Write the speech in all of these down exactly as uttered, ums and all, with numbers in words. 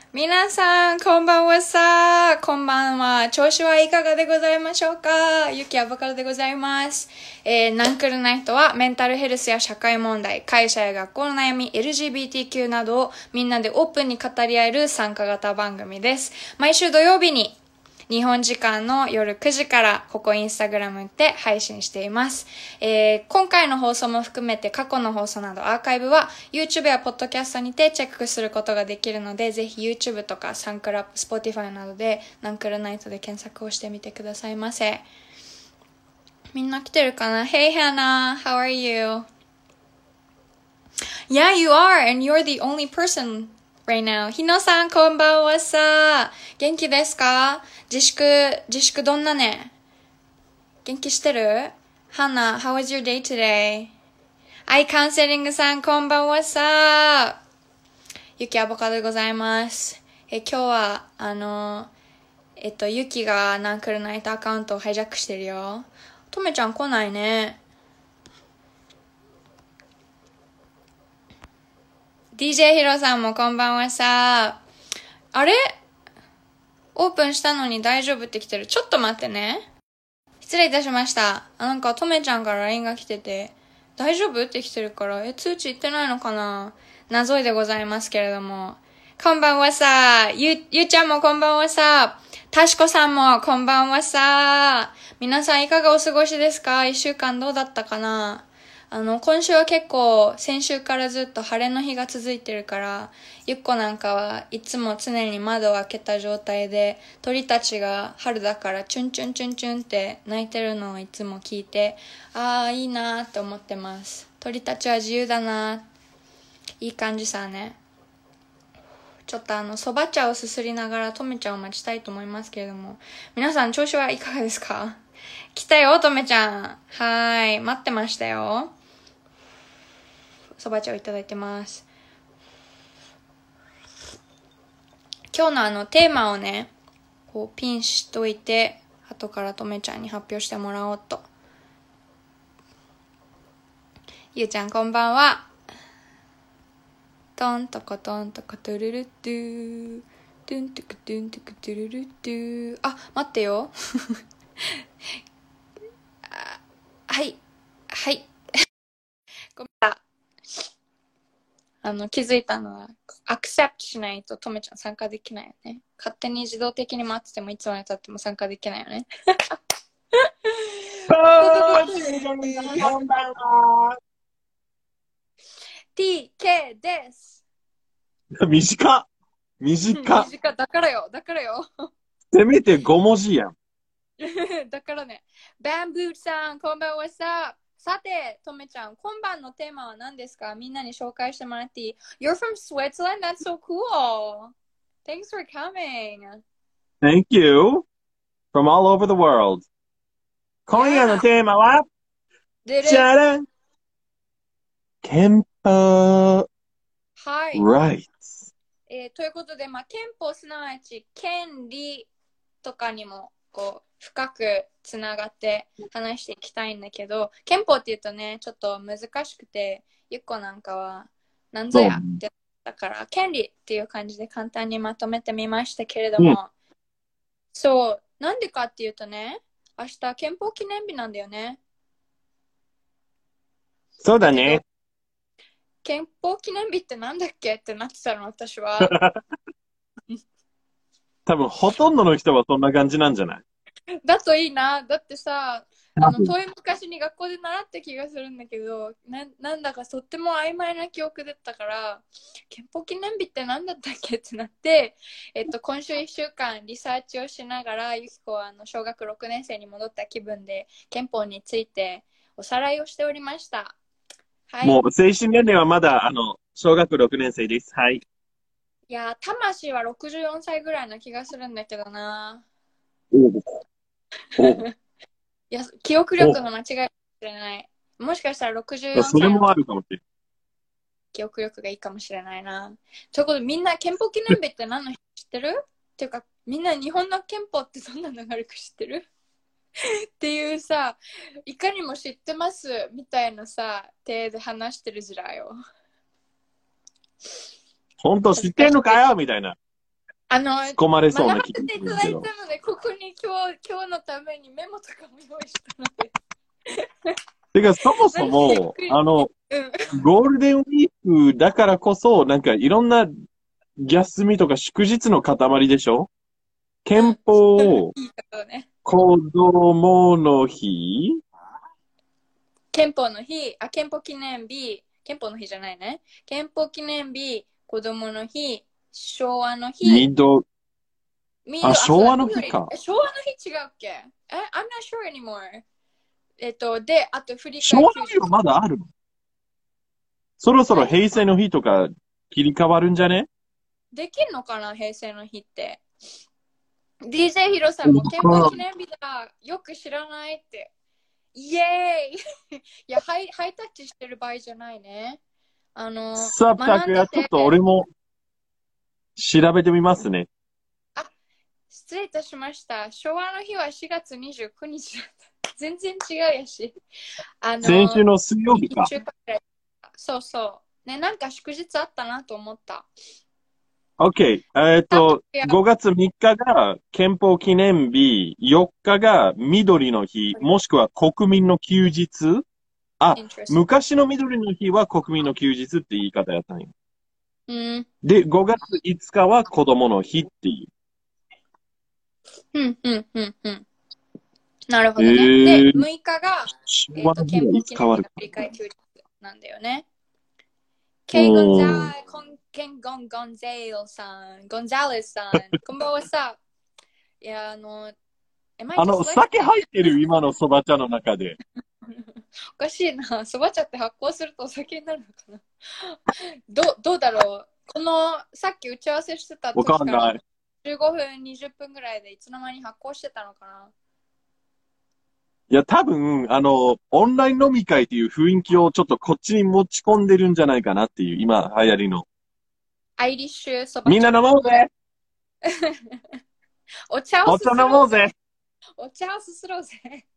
皆さん、こんばんはさ。こんばんは。調子はいかがでございましょうか。ゆきあばからでございます。えー、ナンクルナイトはメンタルヘルスや社会問題、会社や学校の悩み、エルジービーティーキュー などをみんなでオープンに語り合える参加型番組です。毎週土曜日に日本時間の夜くじからここインスタグラムで配信しています。えー、今回の放送も含めて過去の放送などアーカイブは YouTube や Podcast にてチェックすることができるので、ぜひ YouTube とかサンクラップ、Spotify などでナンクルナイトで検索をしてみてくださいませ。みんな来てるかな？ Hey Hannah, how are you? Yeah, you are, and you're the only person right now. ひのさん、こんばんはさ。元気ですか？自粛、自粛どんなね？元気してる？ Hannah, how was your day today? アイカウンセリングさん、こんばんはさ。ゆきアボカドでございます。え、今日は、あの、えっと、ゆきがナンクルナイトアカウントをハイジャックしてるよ。とめちゃん来ないね。ディージェー ヒロさんもこんばんはさ。あれ？オープンしたのに大丈夫って来てる。ちょっと待ってね。失礼いたしました。あ、なんかとめちゃんから ライン が来てて、大丈夫って来てるから、え、通知行ってないのかな？謎いでございますけれども。こんばんはさ。ゆ、ゆうちゃんもこんばんはさ。たしこさんもこんばんはさ。皆さんいかがお過ごしですか？一週間どうだったかな？あの、今週は結構、先週からずっと晴れの日が続いてるから、ゆっこなんかはいつも常に窓を開けた状態で、鳥たちが春だからチュンチュンチュンチュンって鳴いてるのをいつも聞いて、あーいいなーって思ってます。鳥たちは自由だなー。いい感じさね。ちょっとあの、そば茶をすすりながらとめちゃんを待ちたいと思いますけれども、皆さん調子はいかがですか？来たよ、とめちゃん。はーい、待ってましたよ。そば茶をいただいてます。今日のあのテーマをね、こうピンしといて、後からとめちゃんに発表してもらおうと。ゆうちゃんこんばんは。トントコトントコトゥルルッドゥー。トゥントゥクトゥントゥクトゥルルッドゥー。あ、待ってよ。あ、はい。はい。ごめんなさい。あの、気づいたのは、アクセプトしないととめちゃん参加できないよね。勝手に自動的に待っててもいつまで経っても参加できないよね。 こんばんは。 ティーケー です。 短っ。短っ。 短だからよ。だからよ。 せめてご文字やん。 だからね。バンブーさん、こんばんはさ。さて、とめちゃん、今晩のテーマは何ですか？みんなに紹介してもらっていい？ You're from Switzerland? That's so cool. Thanks for coming. Thank you. From all over the world. 今夜のテーマは、 でじゃらん。憲法。 はい。 Right. えー、ということで、まあ、憲法すなわち権利とかにもこう深くつながって話していきたいんだけど、憲法っていうとねちょっと難しくて、ゆっこなんかはなんぞやってだから権利っていう感じで簡単にまとめてみましたけれども、うん、そうなんでかっていうとね、明日憲法記念日なんだよね。 そうだね。 憲法記念日ってなんだっけってなってたの私は。 多分ほとんどの人はそんな感じなんじゃない？ だといいな。だってさ、あの遠い昔に学校で習った気がするんだけど、な, なんだかとっても曖昧な記憶だったから、憲法記念日って何だったっけってなって、えっと、今週いっしゅうかんリサーチをしながら、ゆきこはあの小学ろくねん生に戻った気分で憲法についておさらいをしておりました。 はい、もう精神年齢はまだあの小学ろくねん生です。はい。 いや、魂はろくじゅうよんさいぐらいな気がするんだけどな。 おおいや、記憶力の間違いかもしれない。もしかしたらろくじゅうよんさいそれもあるかもしれない。 記憶力がいいかもしれないな。ということで、みんな憲法記念日って何の日知ってる？っていうか、みんな日本の憲法ってどんな流れか知ってる？っていうさ、いかにも知ってますみたいなさ、手で話してるずらよ。 本当知ってんのかよみたいな。 あの、 突っ込まれそうな気学ばせていただいがするけど。 たので、ここに今日、今日のためにメモとかも用意したので。 てか、そもそも、あの、 うん。 ゴールデンウィークだからこそ、なんかいろんな休みとか祝日の塊でしょ？憲法、 いいことね。 子供の日、 憲法の日、あ、憲法記念日、憲法の日じゃないね。憲法記念日、子供の日、昭和の日、 緑、 緑、 あ、昭和のそうだ緑日か。 え昭和の日違うっけえ ?I'm not sure anymore. えっと、で、あと振り昭替え休日。 和の日はまだあるの？そろそろ何平成の日とか切り替わるんじゃね？ できんのかな平成の日って。ディージェー ヒロさんも憲法記念日だ。よく知らないって。イエーイいやハイ、ハイタッチしてる場合じゃないね。あの、 さあ、たくや、 学んでてちょっと俺も調べてみますね。 あ、失礼いたしました。昭和の日はしがつにじゅうくにちだった。全然違うやし。あの、 先週の水曜日か。 いっしゅうかんくらいそうそう。ね、なんか祝日あったなと思った。 OK。えっと、ごがつみっかが憲法記念日、よっかが緑の日、もしくは国民の休日。あ、昔の緑の日は国民の休日って言い方やったんよ。 うん。 で、ごがついつかは子供の日っていう。 うん、うん、うん、うん。なるほどね。 えー、 で、むいかが、えー、と憲法記念日の振り替え休日なんだよね。ケイ・ゴンザー、コンケン・ゴン・ゴンゼールさん、ゴンザレスさん、こんばんはさ。いや、あの、 あの、酒入ってる今のそば茶の中で。 おかしいな。そば茶って発酵するとお酒になるのかなどどうだろうこの、さっき打ち合わせしてた時かわかんない。 じゅうごふん、にじゅっぷんぐらいでいつの間に発酵してたのかないや、多分、あの、オンライン飲み会っていう雰囲気をちょっとこっちに持ち込んでるんじゃないかなっていう、今流行りの。 アイリッシュそば茶。 みんな飲もうぜお茶をお茶飲もうぜお茶をすすろうぜ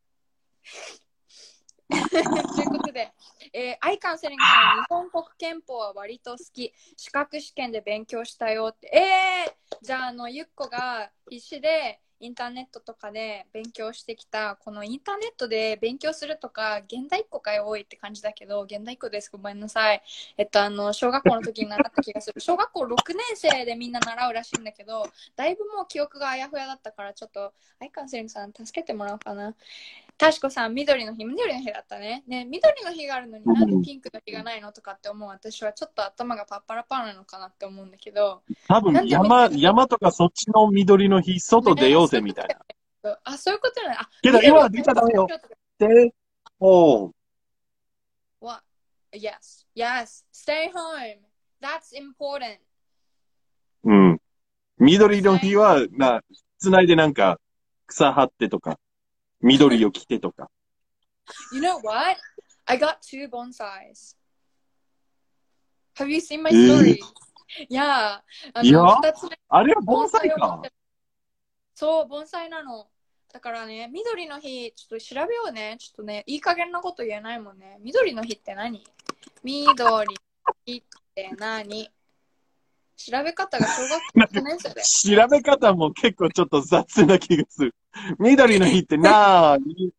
ということで、えー、アイカンセリングさん、日本国憲法は割と好き。資格試験で勉強したよって。えー、じゃあ、あの、ゆっこが必死でインターネットとかで勉強してきた、このインターネットで勉強するとか、現代っ子が多いって感じだけど、現代っ子です。ごめんなさい。えっと、あの、小学校の時に習った気がする。小学校ろくねん生でみんな習うらしいんだけど、だいぶもう記憶があやふやだったから、ちょっと、アイカンセリングさん、助けてもらおうかな。たしこさん、緑の日、緑の日だったね。ね、緑の日があるのになんでピンクの日がないのとかって思う。私はちょっと頭がパッパラパーなのかなって思うんだけど。 多分山、山とかそっちの緑の日、外出ようぜみたいな。 あ、そういうことね。あ、 けど今は出ちゃダメよ。で、おう。 What? Yes. Yes. Stay home. That's important. うん。緑の日は、な、室内でなんか、草張ってとか、緑を着てとか。 You know what? I got two bonsais. Have you seen my story? いや、あの、二つあれは盆栽か。 そう、盆栽なの。だからね、緑の日、ちょっと調べようね。ちょっとね、いい加減なこと言えないもんね。緑の日って何？緑の日って何？調べ方が小学校いちねん生で。 調べ方も結構ちょっと雑な気がする。緑の日ってなーに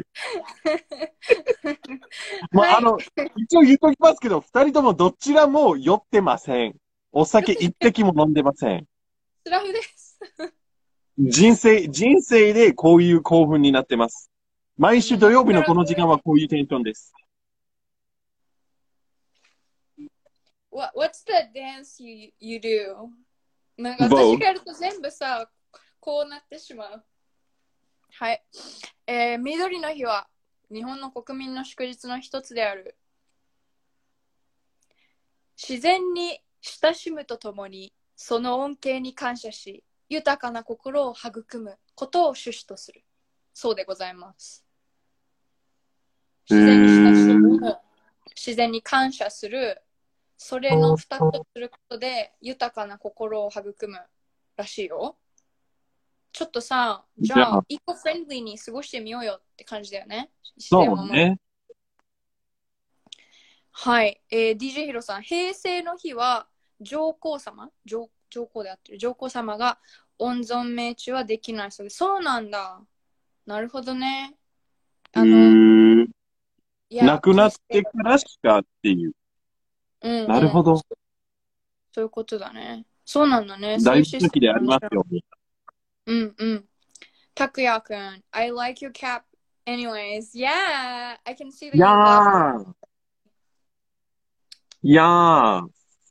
もう、はい、あの、一応言っときますけど、二人ともどちらも酔ってません。お酒一滴も飲んでません。 シラフです。 人生、人生でこういう興奮になってます。毎週土曜日のこの時間はこういうテンションです。 What, what's the dance you, you do? なんか私がやると全部さ、こうなってしまう。はい。えー、緑の日は日本の国民の祝日の一つである。自然に親しむとともに、その恩恵に感謝し、豊かな心を育むことを趣旨とする。そうでございます。自然に親しむ、自然に感謝する、それの二つとすることで豊かな心を育むらしいよ。ちょっとさ、じゃあ、イコフレンドリーに過ごしてみようよって感じだよね。 そうね。 はい、えー、ディージェー ヒロさん、平成の日は上皇様 上, 上皇であってる上皇様が温存命中はできないそうです。そうなんだ。なるほどね。あの、いや亡くなってからしかっていう。 うんうん、 なるほど。 そういうことだね。そうなんだね。 大好きでありますよ。 うんうん。たくやくん、I like your cap. Anyways, yeah, I can see that you love it. いやー。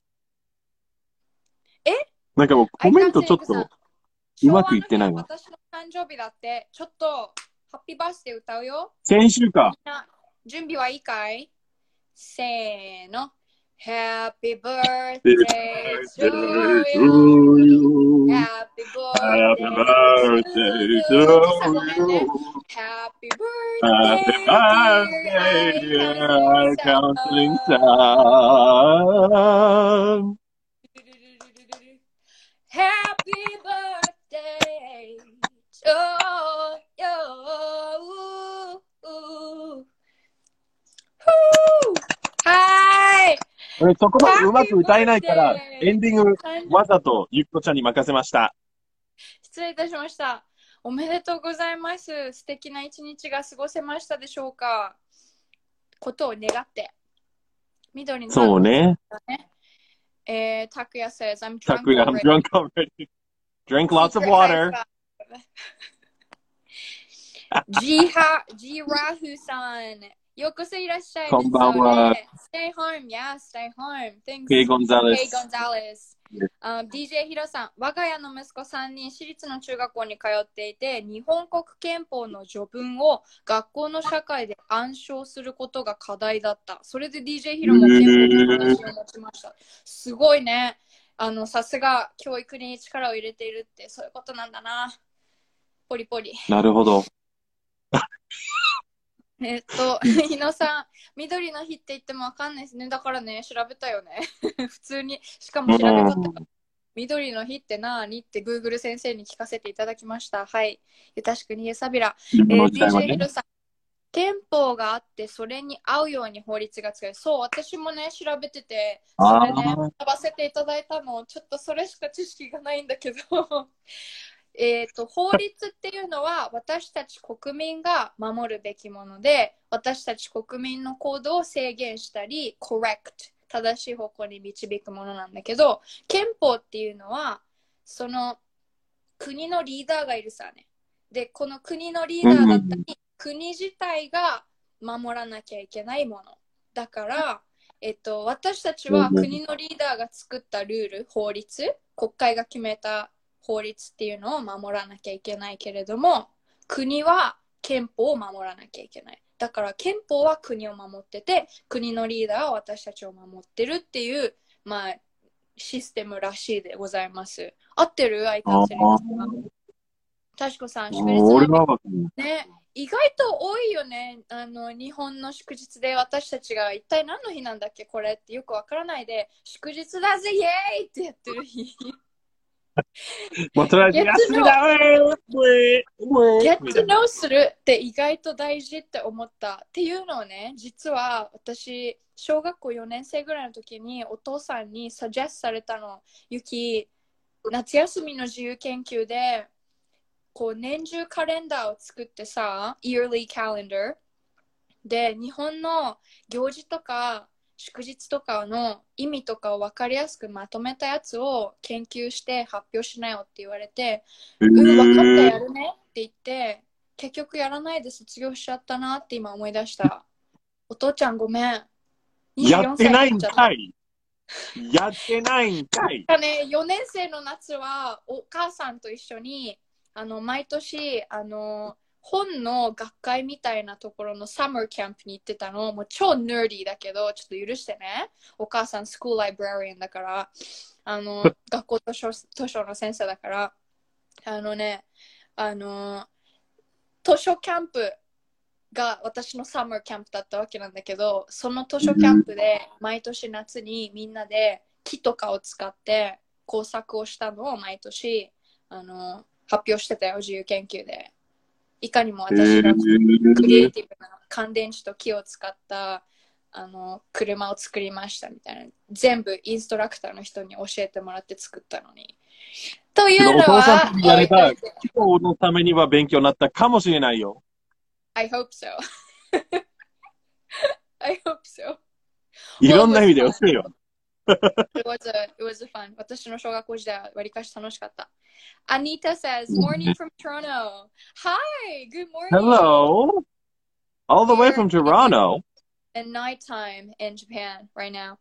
えなんかもうコメントちょっとうまくいってないわ。 私の誕生日だって、ちょっとハッピーバースデー歌うよ。 先週か。 準備はいいかい？せーの。Happy birthday to you. Happy birthday to you. Happy birthday, dear Counseling Son. Happy birthday to you.はい。 俺そこまでうまく歌えないから、エンディングわざとゆっこちゃんに任せました。 失礼いたしました。おめでとうございます。素敵な一日が過ごせましたでしょうか。ことを願って。緑の、 そうね。 えー、たくや says, I'm drunk たくや、I'm drunk already. Drink lots of water. ジハ、ジラフさん。ようこそいらっしゃい。 こんばんは。 Stay home, yeah, stay home. Thanks. K. Gonzalez. K. Gonzalez.、Uh, ディージェー ヒロさん、我が家の息子さんに私立の中学校に通っていて、日本国憲法の序文を学校の社会で暗唱することが課題だった。それで ディージェー ヒロも憲法の話を持ちました。すごいね。あの、さすが教育に力を入れているって、そういうことなんだな。ポリポリ。 なるほど。 えっと、日野さん、緑の日って言ってもわかんないですね。だからね、調べたよね。普通に、しかも調べたった。緑の日って何って Google 先生に聞かせていただきました。はい。ゆたしくにえさびら。えー、ディージェー ヒロさん、憲法があって、それに合うように法律が使える。そう、私もね、調べてて、それね、学ばせていただいたの、ちょっとそれしか知識がないんだけど。えーと、法律っていうのは私たち国民が守るべきもので、私たち国民の行動を制限したり、correct、正しい方向に導くものなんだけど、憲法っていうのは、その国のリーダーがいるさね。で、この国のリーダーだったり、国自体が守らなきゃいけないもの。だから、えっと、私たちは国のリーダーが作ったルール、法律、国会が決めた法律っていうのを守らなきゃいけないけれども、国は憲法を守らなきゃいけない。だから憲法は国を守ってて、国のリーダーは私たちを守ってるっていう、まあ、システムらしいでございます。合ってる？アイカンセリングさん。たしこさん、祝日はね、意外と多いよね。あの、日本の祝日で私たちが一体何の日なんだっけこれってよくわからないで、祝日だぜイエーイってやってる日。 もうとりあえず休みだゲットノーするって意外と大事って思ったっていうのをね、実は私小学校よねん生ぐらいの時にお父さんにサジェスされたの。ゆき、夏休みの自由研究でこう年中カレンダーを作ってさ、yearly calendar で日本の行事とか祝日とかの意味とかを分かりやすくまとめたやつを研究して発表しなよって言われて、うん、分かったやるねって言って結局やらないで卒業しちゃったなって今思い出した。お父ちゃんごめん。 やってないんかい。やってないんかい。 ね、よねん生の夏はお母さんと一緒にあの毎年あの本の学会みたいなところのサマーキャンプに行ってたの。もう超ヌーディーだけど、ちょっと許してね。お母さんスクールライブラリアンだから、あの、学校図書、図書の先生だから、あのね、あの、図書キャンプが私のサマーキャンプだったわけなんだけど、その図書キャンプで毎年夏にみんなで木とかを使って工作をしたのを毎年、あの、発表してたよ、自由研究で。いかにも私がクリエイティブな乾電池と木を使ったあの車を作りましたみたいな、全部インストラクターの人に教えてもらって作ったのに。というのお父さんは、 とやれば、今日のためには勉強になったかもしれないよ。 I hope so. I hope so. いろんな意味で教えよ。 It was a, it was a fun. 私の小学校時代はわりかし楽しかった。Anita says, morning from Toronto. Hi, good morning. Hello. All the way from Toronto. And nighttime in Japan right now.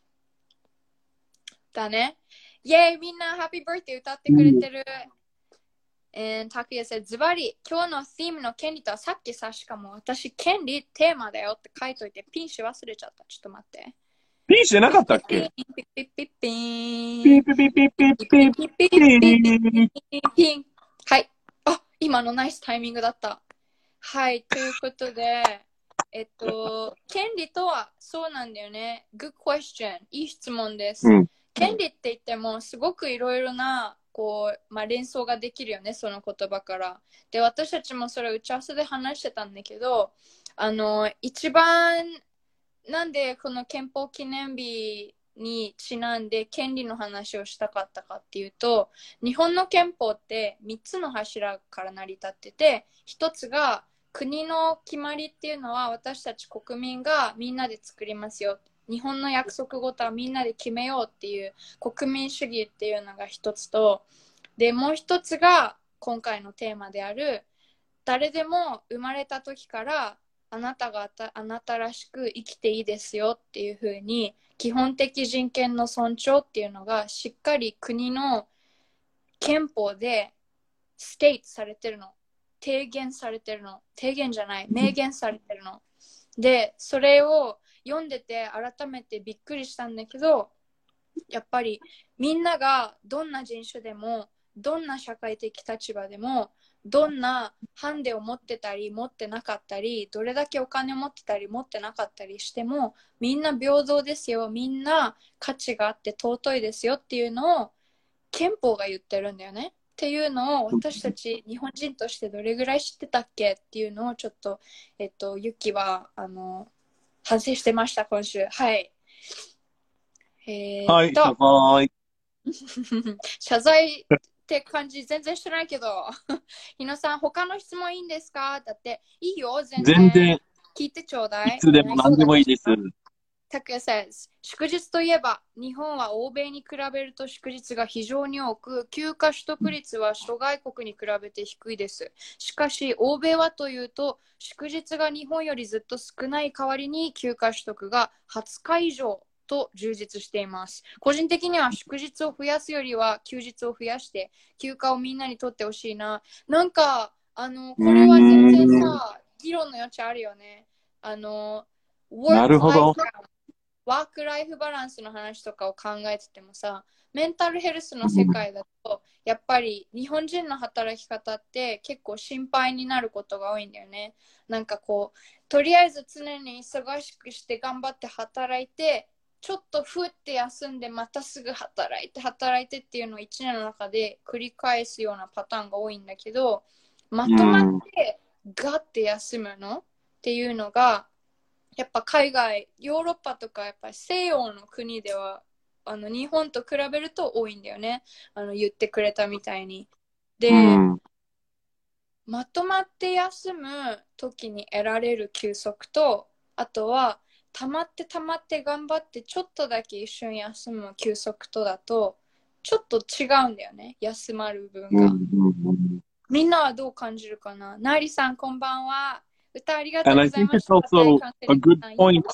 だね。イェイ、みんな Happy Birthday 歌ってくれてる。And Takuya said, ズバリ、今日の theme の権利とはさっきさ、しかも私、権利テーマだよって書いといて、ピンし忘れちゃった。ちょっと待って。 ピンしてなかったっけ？ ピンピッピッピンピピピピピピピピピン。はい。あ、今のナイスタイミングだった。はい。ということで、えっと、権利とはそうなんだよね。Good question. いい質問です。 うん、 権利って言っても、すごくいろいろな、こう、まあ、連想ができるよね、その言葉から。で、私たちもそれを打ち合わせで話してたんだけど、あの、一番、なんでこの憲法記念日にちなんで権利の話をしたかったかっていうと、日本の憲法ってみっつの柱から成り立ってて、ひとつが国の決まりっていうのは私たち国民がみんなで作りますよ。日本の約束事はみんなで決めようっていう国民主義っていうのがひとつと、でもうひとつが今回のテーマである誰でも生まれた時からあなたがあなたらしく生きていいですよっていう風に基本的人権の尊重っていうのがしっかり国の憲法でステイトされてるの、提言されてるの、提言じゃない明言されてるので、それを読んでて改めてびっくりしたんだけど、やっぱりみんながどんな人種でもどんな社会的立場でもどんなハンデを持ってたり持ってなかったり、どれだけお金持ってたり持ってなかったりしてもみんな平等ですよ、みんな価値があって尊いですよっていうのを憲法が言ってるんだよね。っていうのを私たち日本人としてどれぐらい知ってたっけっていうのをちょっと、えっと、ユキはあの反省してました今週。はい。えー、っと、 はい、 謝罪って感じ全然してないけど、日野さん、他の質問いいんですか？だって、いいよ、全然。 全然。 聞いてちょうだい。 いつでも何でもいいです。 タクヤ says、祝日といえば、日本は欧米に比べると祝日が非常に多く、休暇取得率は諸外国に比べて低いです。しかし、欧米はというと、祝日が日本よりずっと少ない代わりに休暇取得がはつか以上と充実しています。個人的には祝日を増やすよりは休日を増やして休暇をみんなにとってほしいな。なんかあのこれは全然さ議論の余地あるよね。あのなるほど。 ワークライフバランスの話とかを考えててもさ、メンタルヘルスの世界だとやっぱり日本人の働き方って結構心配になることが多いんだよね。なんかこうとりあえず常に忙しくして頑張って働いてちょっとふって休んでまたすぐ働いて働いてっていうのをいちねんの中で繰り返すようなパターンが多いんだけど、まとまってガッて休むのっていうのがやっぱ海外ヨーロッパとかやっぱり西洋の国ではあの日本と比べると多いんだよね。あの言ってくれたみたいにで、まとまって休む時に得られる休息と、あとはたまってたまって頑張ってちょっとだけ一瞬休む休息とだとちょっと違うんだよね、休まる分が。みんなはどう感じるかな。ナーリさんこんばんは。歌ありがとうございました。 And I think it's also a good point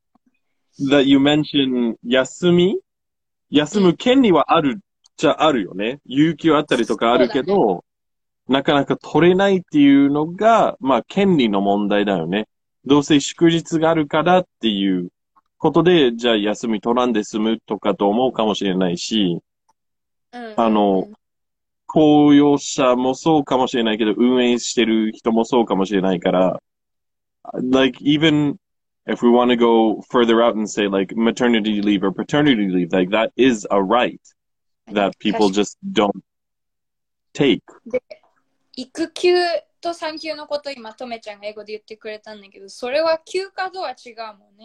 that you mentioned 休み休む権利はあるじゃあるよね。有給あったりとかあるけど、ね、なかなか取れないっていうのが、まあ権利の問題だよね。どうせ祝日があるからっていうことで、じゃあ休み取らんで済むとかと思うかもしれないし、 うんうんうん、 あの、公用車もそうかもしれないけど、運営してる人もそうかもしれないから、like even if we want to go further out and say like maternity leave or paternity leave, like that is a right that people just don't take. で、育休と産休のこと今とめちゃんが英語で言ってくれたんだけど、それは休暇とは違うもんね。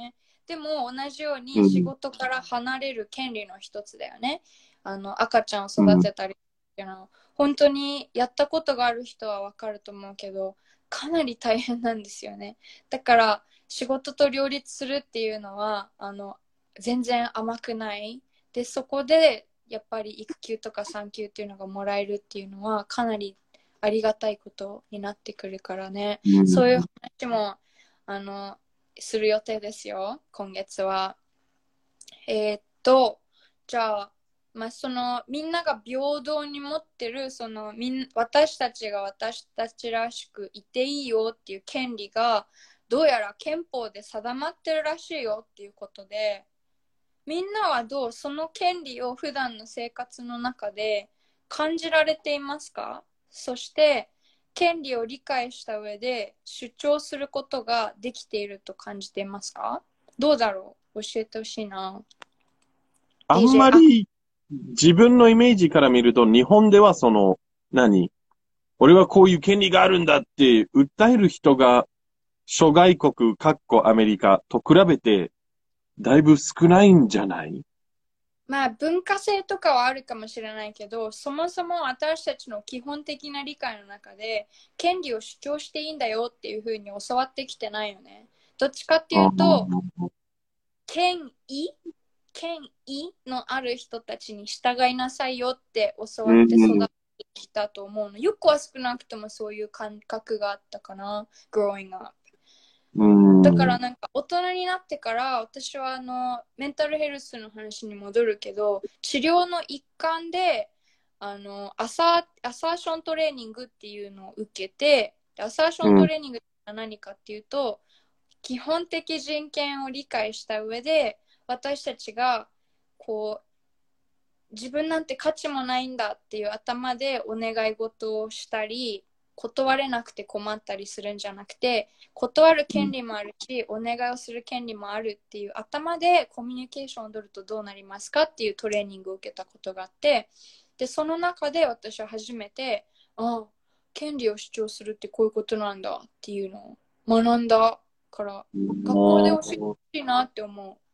でも同じように仕事から離れる権利の一つだよね。あの赤ちゃんを育てたりっていうのは、本当にやったことがある人はわかると思うけど、かなり大変なんですよね。だから仕事と両立するっていうのはあの全然甘くない。で、そこでやっぱり育休とか産休っていうのがもらえるっていうのはかなりありがたいことになってくるからね。うん、そういう話もあのする予定ですよ、今月は。えー、っと、じゃあ、まあ、そのみんなが平等に持ってるそのみん私たちが私たちらしくいていいよっていう権利がどうやら憲法で定まってるらしいよっていうことで、みんなはどうその権利を普段の生活の中で感じられていますか？そして権利を理解した上で主張することができていると感じていますか？どうだろう？教えてほしいな。 あんまり自分のイメージから見ると日本ではその何俺はこういう権利があるんだって訴える人が諸外国、かっこアメリカと比べてだいぶ少ないんじゃない？ まあ文化性とかはあるかもしれないけど、そもそも私たちの基本的な理解の中で権利を主張していいんだよっていうふうに教わってきてないよね。どっちかっていうと、権威権威のある人たちに従いなさいよって教わって育ってきたと思うの。よくは少なくともそういう感覚があったかな、growing up。だからなんか大人になってから私はあのメンタルヘルスの話に戻るけど、治療の一環であのアサ、アサーショントレーニングっていうのを受けて、アサーショントレーニングって何かっていうと、基本的人権を理解した上で私たちがこう自分なんて価値もないんだっていう頭でお願い事をしたり、断れなくて困ったりするんじゃなくて、断る権利もあるし、お願いをする権利もあるっていう頭でコミュニケーションを取るとどうなりますかっていうトレーニングを受けたことがあって、でその中で私は初めて、ああ、権利を主張するってこういうことなんだっていうのを学んだから、学校で教えてほしいなって思う。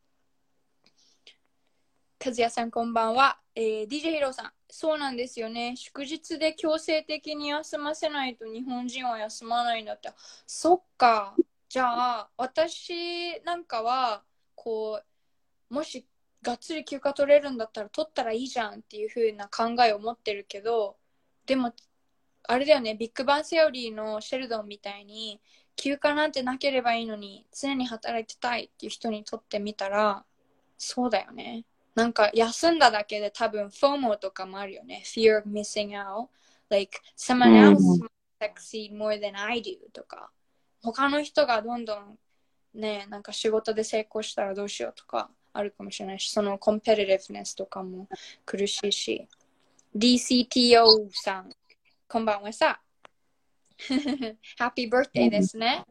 和也さんこんばんは、えー、ディージェー ヒロさん、そうなんですよね。祝日で強制的に休ませないと日本人は休まないんだって。そっか。じゃあ私なんかはこうもしがっつり休暇取れるんだったら取ったらいいじゃんっていう風な考えを持ってるけど、でもあれだよね、ビッグバンセオリーのシェルドンみたいに休暇なんてなければいいのに常に働いてたいっていう人にとってみたらそうだよね。なんか休んだだけで多分 FOMO とかもあるよね。Fear of missing out. Like someone else might succeed more than I do とか。他の人がどんどんね、なんか仕事で成功したらどうしようとかあるかもしれないし、そのコンペティティブネスとかも苦しいし。ディーシーティーオー さん、こんばんはさ。ハッピーバースデーですね。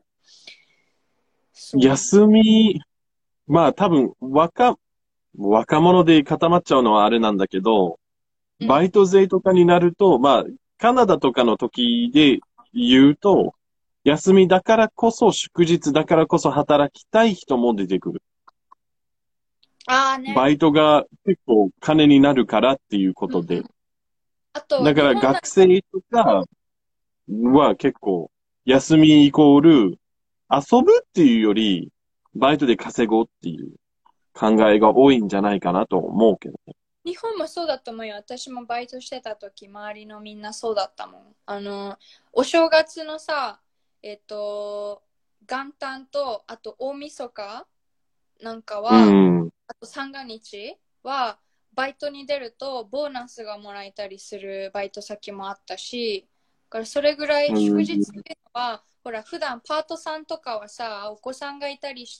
休み、まあ多分若、若者で固まっちゃうのはあれなんだけど、バイト税とかになると、うん、まあ、カナダとかの時で言うと、休みだからこそ、祝日だからこそ働きたい人も出てくる。 あーね。 バイトが結構金になるからっていうことで。うん、 あとだから学生とかは結構、休みイコール、遊ぶっていうより、バイトで稼ごうっていう考えが多いんじゃないかなと思うけどね。 日本もそうだと思うよ。私もバイトしてた時、周りのみんなそうだったもん。あの、お正月のさ、えっと、元旦と、あと大晦日なんかは、うん、あと三が日は、バイトに出るとボーナスがもらえたりするバイト先もあったし、だからそれぐらい祝日っていうのは、うん、ほら、普段パートさんとかはさ、お子さんがいたりして、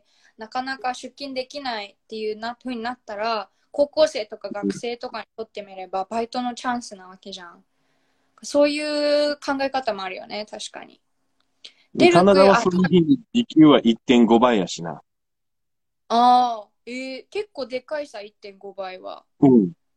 なかなか出勤できないっていうな風になったら、高校生とか学生とかにとってみればバイトのチャンスなわけじゃん。そういう考え方もあるよね、確かに。 カナダはその日に時給はいってんごばいやしな。 ああ、えー、結構でかいさ、いってんごばいは。 うん。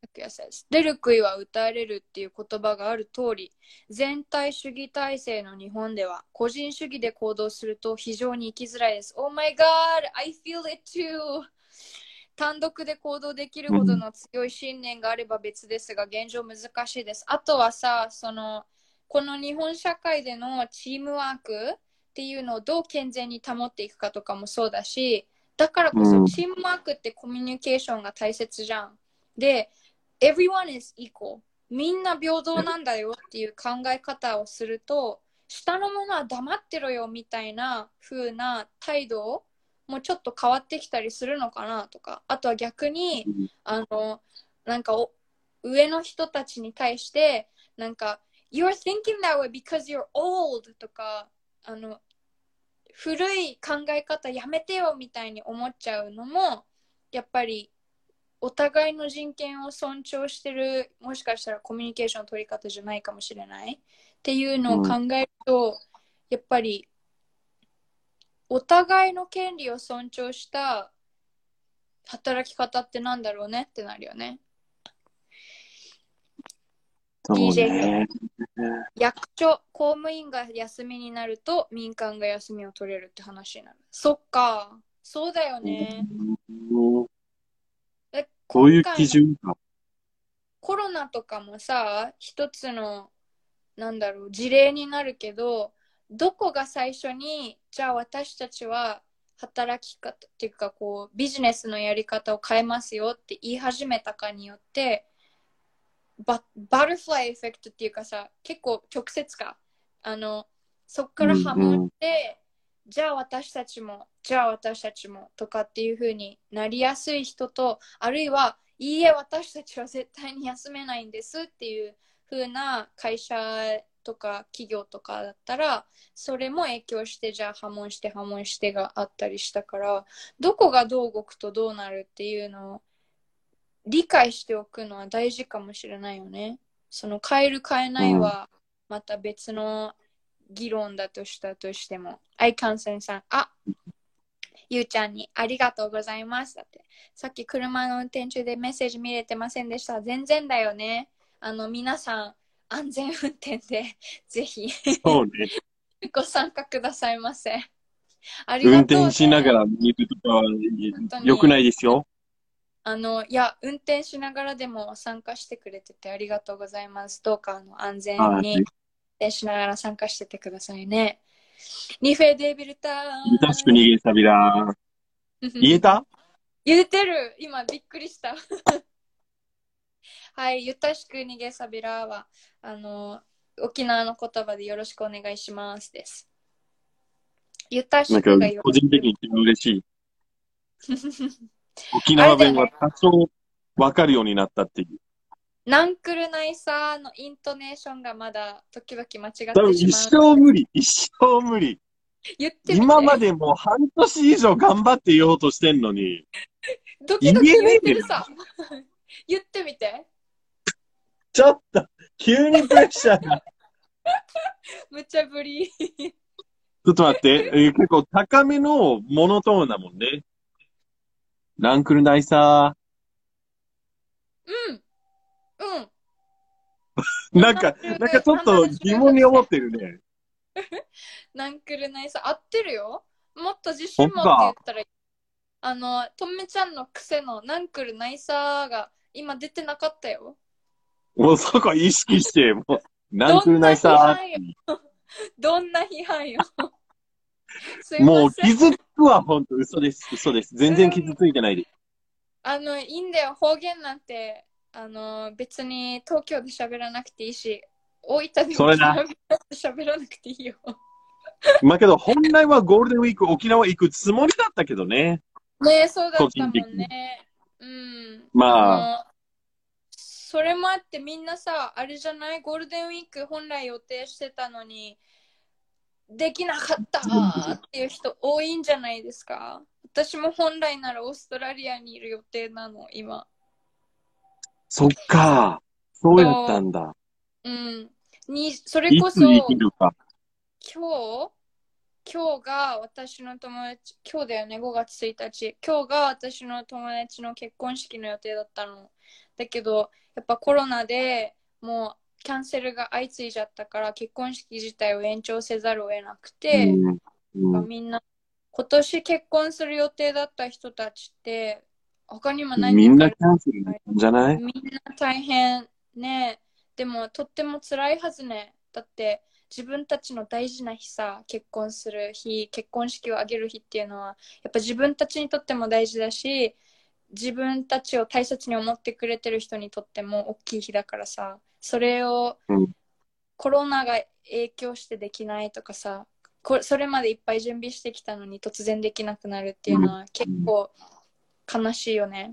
says 出る杭は打たれるっていう言葉がある通り、全体主義体制の日本では個人主義で行動すると非常に生きづらいです。Oh my god, I feel it too! 単独で行動できるほどの強い信念があれば別ですが、現状難しいです。あとはさ、そのこの日本社会でのチームワークっていうのをどう健全に保っていくかとかもそうだし、だからこそチームワークってコミュニケーションが大切じゃん。で、everyone is equal。みんな平等なんだよっていう考え方をすると、下の者は黙ってろよみたいな風な態度もちょっと変わってきたりするのかなとか、あとは逆に、あの、なんか上の人たちに対して、なんか、You're thinking that way because you're old とか、あの、古い考え方やめてよみたいに思っちゃうのも、やっぱりお互いの人権を尊重してる、もしかしたらコミュニケーションの取り方じゃないかもしれないっていうのを考えると、うん、やっぱりお互いの権利を尊重した働き方ってなんだろうねってなるよね。 そうね。 ディージェー 役所、公務員が休みになると民間が休みを取れるって話になる。そっか、そうだよね。 うん、こういう基準か。 コロナとかもさ、一つのなんだろう事例になるけど、どこが最初にじゃあ私たちは働き方っていうかこうビジネスのやり方を変えますよって言い始めたかによってバ, バタフライエフェクトっていうかさ、結構直接か、あのそっから波紋して、うんうん、じゃあ私たちもじゃあ私たちもとかっていう風になりやすい人と、あるいはいいえ私たちは絶対に休めないんですっていう風な会社とか企業とかだったら、それも影響してじゃあ波紋して波紋してがあったりしたから、どこがどう動くとどうなるっていうのを理解しておくのは大事かもしれないよね。その変える変えないはまた別の議論だとしたとしても。アイカンセンさん、あ、ゆうちゃんにありがとうございますだって。さっき車の運転中でメッセージ見れてませんでした。全然だよね。あの皆さん安全運転でぜひそうねご参加くださいませ。ありがとう、ね、 運転しながら見るとかは良くないですよ。 あのいや運転しながらでも参加してくれててありがとうございます。どうかあの安全に運転しながら参加しててくださいね。ニフェデビルターゆたしく逃げさびら言えた言えてる。今びっくりしたはい、ゆたしく逃げさびらはあの沖縄の言葉でよろしくお願いしますです。ゆたしくがよろしく。 個人的に嬉しい沖縄弁は多少分かるようになったっていう。 ナンクルナイサーのイントネーションがまだ時々間違ってしまう。 一生無理、一生無理。 言ってみて。 今までもう半年以上頑張って言おうとしてんのに。 ドキドキ言ってるさ。言ってみて。 ちょっと、急にプレッシャーが。 むちゃぶり。 ちょっと待って、結構高めのモノトーンだもんね。ナンクルナイサー。うん。うん。 なんか、なんかちょっと疑問に思ってるね。 ナンクルナイサー、合ってるよ。もっと自信持って言ったらいい。あの、とめちゃんの癖のナンクルナイサーが今出てなかったよ。 もうそこ意識して、もう、ナンクルナイサー。どんな批判よ。 もう傷つくは本当嘘です。嘘です。全然傷ついてないです。 うん、あの、いいんだよ。方言なんて、あの、別に東京で喋らなくていいし、大分でも喋らなくていいよ。 まあけど、本来はゴールデンウィーク沖縄行くつもりだったけどね。 ねえ、そうだったもんね。うん。 まあ。 あそれもあってみんなさ、あれじゃないゴールデンウィーク本来予定してたのに、できなかったっていう人多いんじゃないですか。私も本来ならオーストラリアにいる予定なの、今。 そっか。そうやったんだ。 うん。に、それこそ、 いつ行けるか。 今日今日が私の友達、今日だよね、ごがつついたち。今日が私の友達の結婚式の予定だったの。 だけど、やっぱコロナでもうキャンセルが相次いじゃったから結婚式自体を延長せざるを得なくて、 うんうん、 みんな今年結婚する予定だった人たちって他にも何みん人かいるなキャンセルなんじゃない？ みんな大変ね。でもとっても辛いはずね。だって自分たちの大事な日さ、結婚する日、結婚式を挙げる日っていうのはやっぱ自分たちにとっても大事だし、自分たちを大切に思ってくれてる人にとっても大きい日だからさ、それをコロナが影響してできないとかさ、こそれまでいっぱい準備してきたのに突然できなくなるっていうのは結構悲しいよね。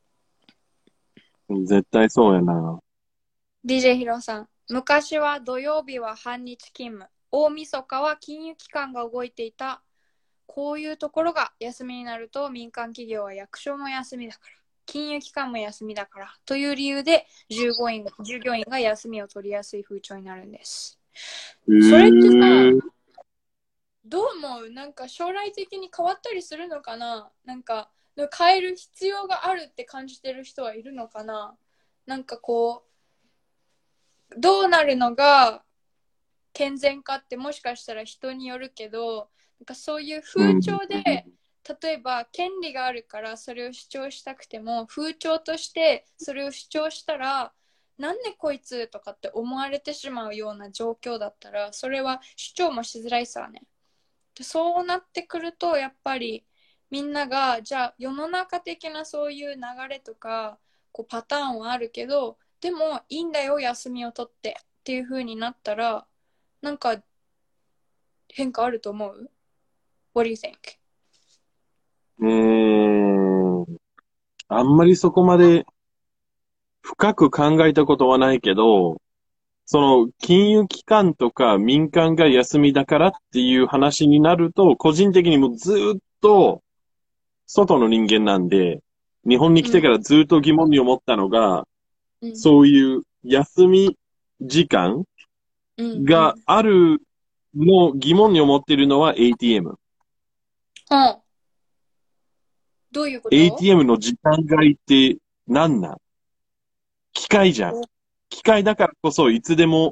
絶対そうやな。 ディージェー ヒロさん、昔は土曜日は半日勤務、大晦日は金融機関が動いていた。こういうところが休みになると民間企業は役所も休みだから、金融機関も休みだからという理由で従業員従業員が休みを取りやすい風潮になるんです。それってさ、どう思う？なんか将来的に変わったりするのかな？なんか変える必要があるって感じてる人はいるのかな？なんかこうどうなるのが健全かってもしかしたら人によるけど、なんかそういう風潮で、例えば権利があるからそれを主張したくても風潮としてそれを主張したらなんでこいつとかって思われてしまうような状況だったらそれは主張もしづらいさね。でそうなってくるとやっぱりみんながじゃあ世の中的なそういう流れとかこうパターンはあるけどでもいいんだよ休みを取ってっていう風になったらなんか変化あると思う？ What do you think? うーん。あんまりそこまで深く考えたことはないけど、その金融機関とか民間が休みだからっていう話になると、個人的にもずっと外の人間なんで、日本に来てからずっと疑問に思ったのが、 うん、 そういう休み時間があるの疑問に思っているのは エーティーエム。 うん、どういうこと？ エーティーエム の時間外って何なん？機械じゃん。機械だからこそいつでも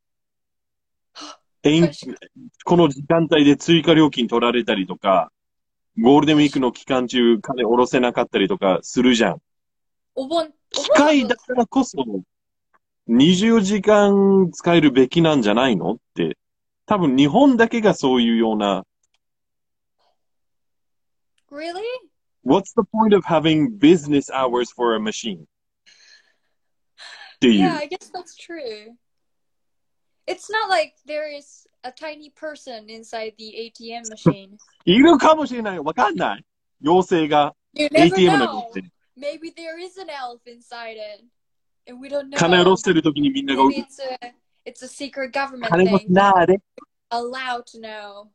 この時間帯で追加料金取られたりとか、ゴールデンウィークの期間中金下ろせなかったりとかするじゃん。 お盆、 機械だからこそにじゅうよじかん使えるべきなんじゃないのって。多分日本だけがそういうような。 Really? What's the point of having business hours for a machine? Do you? Yeah, I guess that's true. It's not like there is a tiny person inside the エーティーエム machine. いるかもしれない。わかんない。妖精が You エー never ティーエム のに know. って。 Maybe there is an elf inside it. And we don't 金下ろ know. してるときにみんなが、 Maybe it's a, it's a secret government 金持ち thing. なーで。 Allowed to know.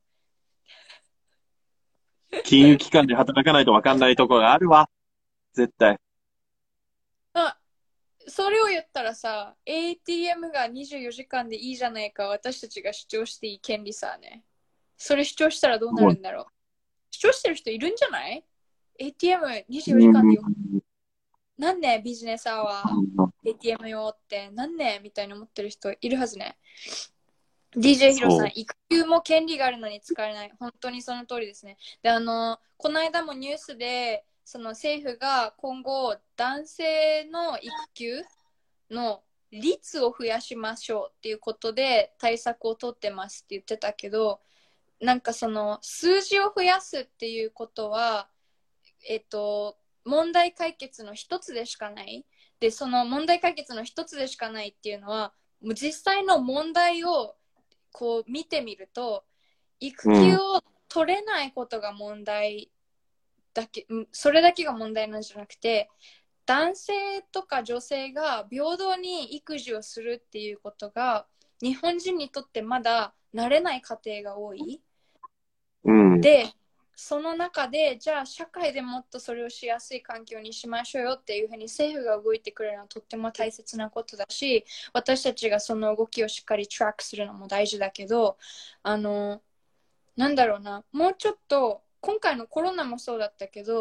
金融機関で働かないとわかんないところがあるわ。絶対。 あ、それを言ったらさ、エーティーエム がにじゅうよじかんでいいじゃないか、私たちが主張していい権利さね。それ主張したらどうなるんだろう。主張してる人いるんじゃない？ エーティーエムにじゅうよじかんでよく。なんねビジネスアワー エーティーエム 用ってなんねみたいに思ってる人いるはずね。ディージェー ヒロさん、育休も権利があるのに使えない。本当にその通りですね。で、あの、この間もニュースで、その政府が今後、男性の育休の率を増やしましょうっていうことで対策を取ってますって言ってたけど、なんかその数字を増やすっていうことは、えっと、問題解決の一つでしかない。で、その問題解決の一つでしかないっていうのは、もう実際の問題をこう見てみると、育休を取れないことが問題だけ、うん、それだけが問題なんじゃなくて、男性とか女性が平等に育児をするっていうことが日本人にとってまだ慣れない家庭が多い。 うん、 で、その中でじゃあ社会でもっとそれをしやすい環境にしましょうよっていうふうに政府が動いてくれるのはとっても大切なことだし、私たちがその動きをしっかりトラックするのも大事だけど、あのなんだろうな、もうちょっと今回のコロナもそうだったけど、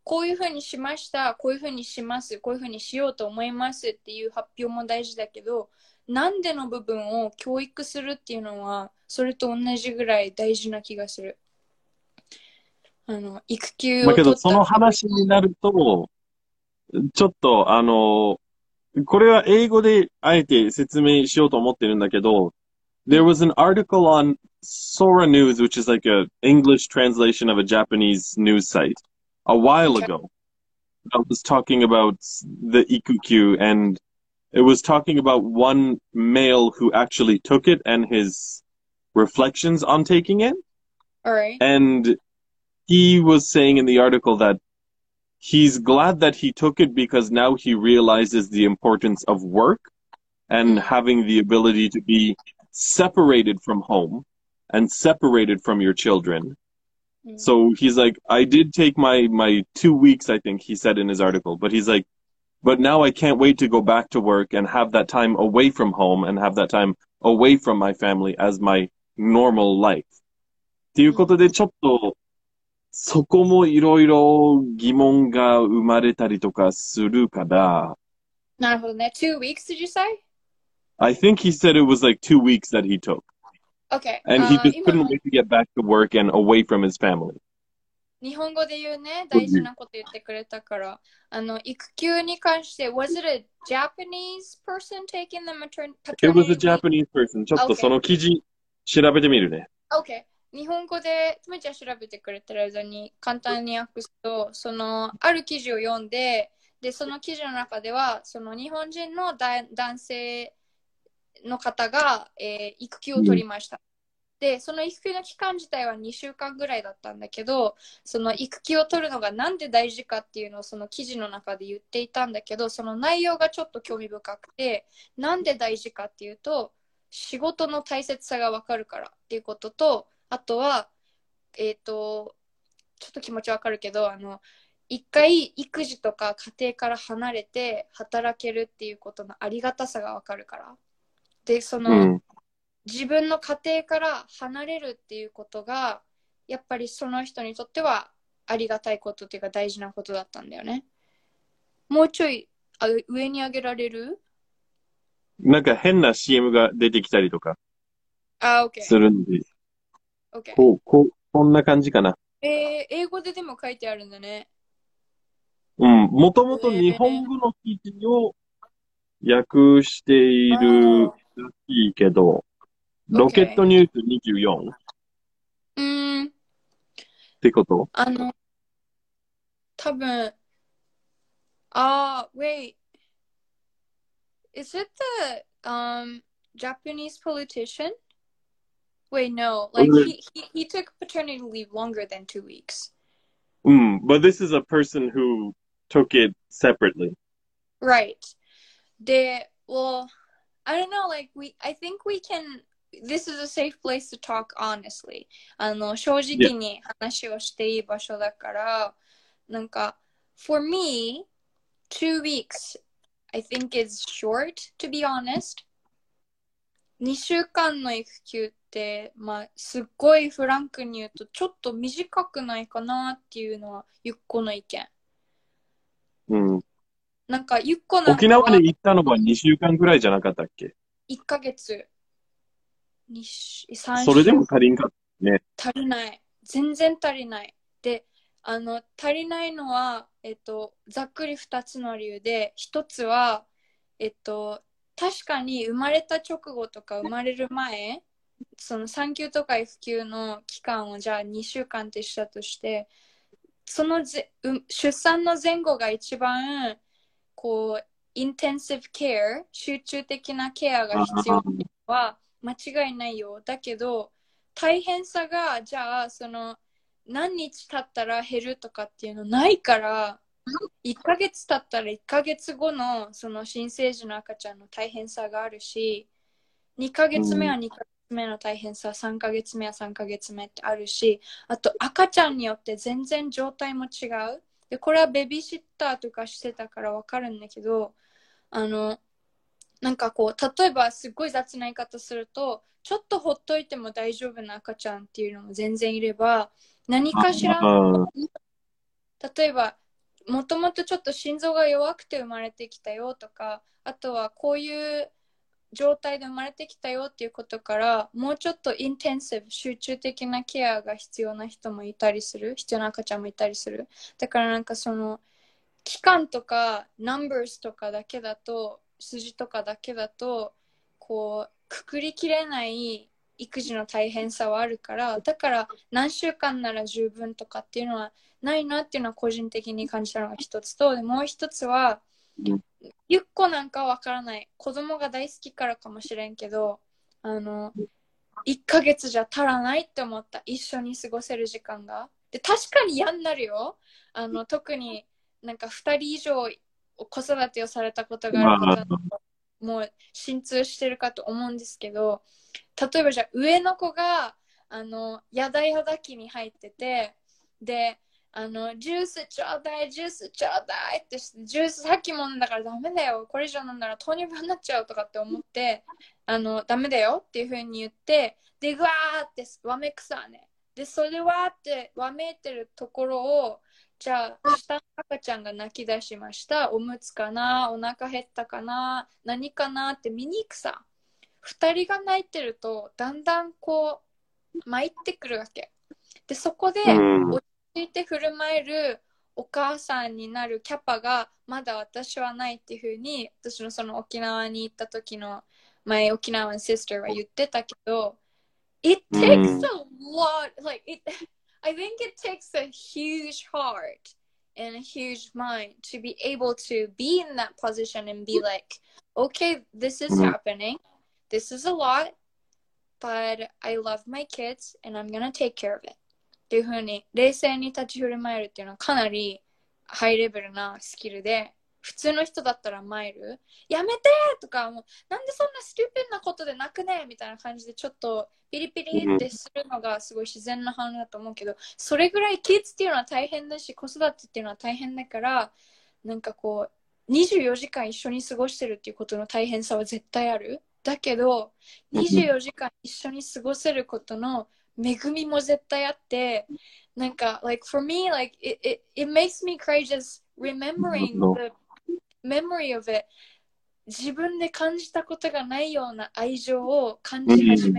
こういうふうにしました、こういうふうにします、こういうふうにしようと思いますっていう発表も大事だけど、なんでの部分を教育するっていうのは、それと同じぐらい大事な気がする。あの、育休だけど、 を取った。 その話になると、ちょっと、あの、これは英語であえて説明しようと思ってるんだけど、There was an article on Sora News, which is like a English translation of a Japanese news site, a while ago. That was talking about the Ikukyu, and it was talking about one male who actually took it and his reflections on taking it. Alright. And he was saying in the article that he's glad that he took it because now he realizes the importance of work and Mm. having the ability to be separated from home and separated from your children. Mm. So he's like, I did take my, my two weeks, I think he said in his article, but he's like, but now I can't wait to go back to work and have that time away from home and have that time away from my family as my normal life. っていうことで、ちょっと、そこもいろいろ疑問が生まれたりとかするから。 なるほどね。Two weeks, did you say? I think he said it was like two weeks that he took. Okay. And he あー just 今 couldn't の wait to get back to work and away from his family. 日本語で言うね、大事なこと言ってくれたから、あの、育休に関して、was it a Japanese person taking the matern- It was a paternity leave? Japanese person. ちょっと Okay. その記事調べてみるね。 OK。日本語で、つめちゃん調べてくれてる間に簡単に訳すと、その、ある記事を読んで、で、その記事の中では、その日本人のだ男性の方が、えー育休を取りました。で、その育休の期間自体はにしゅうかんぐらいだったんだけど、その育休を取るのがなんで大事かっていうのをその記事の中で言っていたんだけど、その内容がちょっと興味深くて、なんで大事かっていうと、仕事の大切さがわかるからっていうことと、あとは、えっと、ちょっと気持ちわかるけど、あの、一回育児とか家庭から離れて働けるっていうことのありがたさがわかるから。で、その、 うん。 自分の家庭から離れるっていうことが、やっぱりその人にとってはありがたいことっていうか大事なことだったんだよね。もうちょいあ上に上げられる？ なんか変な シーエム が出てきたりとかあ、OK。 するんで、 OK。 こう、こう、こんな感じかな。 えー、英語ででも書いてあるんだね。 うん。もともと日本語の記事を訳しているらしいけど、ロケットニュースにじゅうよんっうーん、 てこと？ あの、多分、あー、wait. Is it the um Japanese politician? Wait, no. Like he, he, he took paternity leave longer than two weeks. うん。But this is a person who took it separately. Right. They, well, I don't know, like we, I think we can, this is a safe place to talk honestly. あの、正直に話をしていい場所だから、なんか、for me, two weeks, I think is short, to be honest. にしゅうかんの育休って、まあ、すっごいフランクに言うと、ちょっと短くないかなっていうのは、ゆっこの意見。 うん。 なんか、ゆっこなんかは沖縄に行ったのはにしゅうかんぐらいじゃなかったっけ？ いっかげつ、にさんしゅうそれでも足りんかったね。 足りない。全然足りない。で、あの、足りないのは、えっと、ざっくりふたつの理由で、ひとつは、えっと、確かに生まれた直後とか生まれる前、その産休とか育休の期間をじゃあにしゅうかんってしたとして、そのぜ出産の前後が一番こうインテンシブケア、集中的なケアが必要なのは間違いないよ。だけど大変さがじゃあその何日経ったら減るとかっていうのないから、いっかげつ経ったらいっかげつごのその新生児の赤ちゃんの大変さがあるし、にかげつめはにかげつめの大変さ、さんかげつめはさんかげつめってあるし、あと赤ちゃんによって全然状態も違う。で、これはベビーシッターとかしてたからわかるんだけど、あの、なんかこう、例えばすっごい雑な言い方すると、ちょっとほっといても大丈夫な赤ちゃんっていうのも全然いれば、何かしら、例えばもともとちょっと心臓が弱くて生まれてきたよとか、あとはこういう状態で生まれてきたよっていうことから、もうちょっとインテンシブ、集中的なケアが必要な人もいたりする、必要な赤ちゃんもいたりする。だからなんかその期間とかナンバーズとかだけだと、数字とかだけだとこうくくりきれない育児の大変さはあるから、だから何週間なら十分とかっていうのはないなっていうのは個人的に感じたのが一つと、でもう一つは、ゆっこなんかわからない、子供が大好きからかもしれんけど、あのいっかげつじゃ足らないって思った、一緒に過ごせる時間が。で確かに嫌になるよ、あの特になんかふたり以上子育てをされたことがある方はもう心痛してるかと思うんですけど、例えばじゃあ上の子があのやだやだ期に入ってて、であのジュースちょうだいジュースちょうだいってして、ジュースさっきも飲んだからダメだよ、これ以上飲んだら糖尿病になっちゃうとかって思って、あのダメだよっていう風に言って、でぐわーってわめくさね、でそれでわーってわめいてるところを、じゃあ下の赤ちゃんが泣き出しました、おむつかな、お腹減ったかな、何かなって見に行くさ。ふたりが泣いてるとだんだんこう参ってくるわけで、そこで落ち着いて振る舞えるお母さんになるキャパがまだ私はないっていうふうに、私のその沖縄に行った時の前沖縄のシスターは言ってたけど、It takes a lot, like it, I think it takes a huge heart and a huge mind to be able to be in that position and be like, okay, this is happening, this is a lot, but I love my kids and I'm gonna take care of it っていう風に冷静に立ち振る舞えるっていうのはかなりハイレベルなスキルで、普通の人だったらマイルやめてとか、もうなんでそんなスキューピンなことで泣くねみたいな感じでちょっとピリピリってするのがすごい自然な反応だと思うけど、それぐらいキッズっていうのは大変だし、子育てっていうのは大変だから、なんかこうにじゅうよじかん一緒に過ごしてるっていうことの大変さは絶対ある。だけどにじゅうよじかん一緒に過ごせることの恵みも絶対あって、なんか like for me like it, it, it makes me cry just remembering the memory of it。 自分で感じたことがないような愛情を感じ始め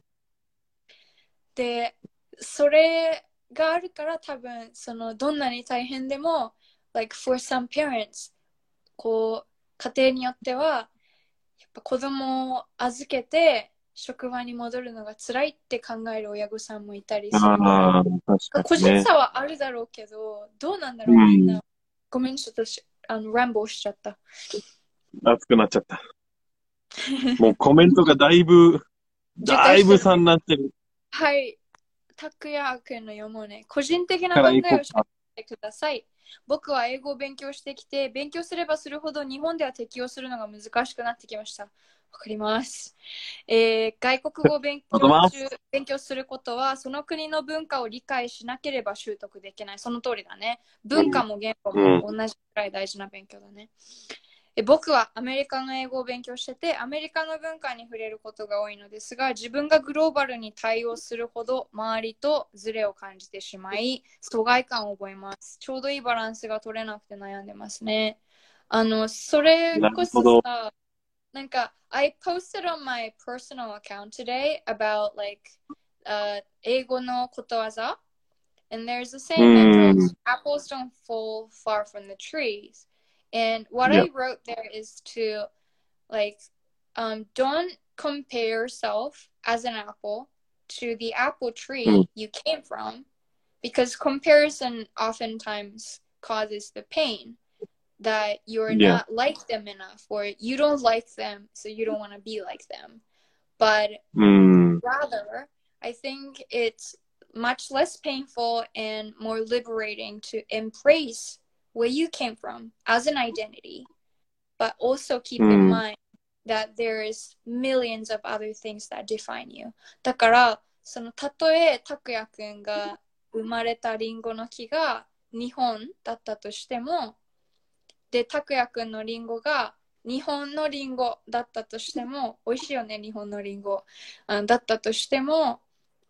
て、それがあるから多分そのどんなに大変でも like for some parents こう家庭によってはやっぱ子供を預けて職場に戻るのが辛いって考える親御さんもいたりするから、個人差はあるだろうけど、どうなんだろう、みんな。ごめん、ちょっとあのランボーしちゃった。 熱くなっちゃった。もうコメントがだいぶ、だいぶ差になってる。 はい。拓也君の読もうね。個人的な考えをしてください。僕は英語を勉強してきて、勉強すればするほど日本では適用するのが難しくなってきました。わかります。えー、外国語を勉強中勉強することは、その国の文化を理解しなければ習得できない。その通りだね。文化も言語も同じくらい大事な勉強だね。え僕はアメリカの英語を勉強してて、アメリカの文化に触れることが多いのですが、自分がグローバルに対応するほど周りとズレを感じてしまい、疎外感を覚えます。ちょうどいいバランスが取れなくて悩んでますね。あの、それこそさ、なんか、I posted on my personal account today about like、uh, 英語のことわざ and there's a saying that goes, apples don't fall far from the trees. And what yep. I wrote there is to like um don't compare yourself as an apple to the apple tree mm. you came from, because comparison oftentimes causes the pain that you're yeah. not like them enough, or you don't like them so you don't want to be like them. But mm. rather I think it's much less painful and more liberating to embrace where you came from as an identity, but also keep mm. in mind that there is millions of other things that define you. だからそのたとえ拓也くんが生まれたリンゴの木が日本だったとしても、で拓也くんのリンゴが日本のリンゴだったとしても、美味しいよね日本のリンゴ、うん、だったとしても、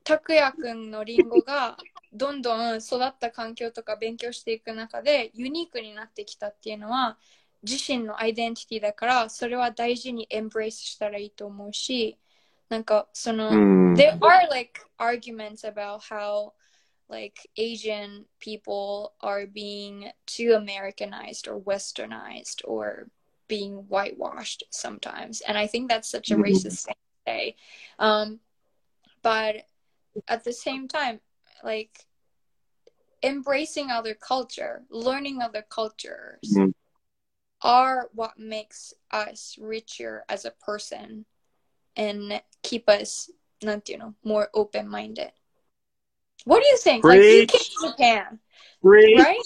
拓也くんのリンゴがどんどん育った環境とか勉強していく中でユニークになってきたっていうのは自身のアイデンティティだから、それは大事にエンブレイスしたらいいと思うし、なんかその、there are like arguments about how like Asian people are being too Americanized or westernized or being whitewashed sometimes, and I think that's such a racist thing to say. Um, but at the same time, like embracing other culture, learning other cultures Mm. are what makes us richer as a person and keep us, not you know, more open-minded. What do you think? Like you came to Japan, right?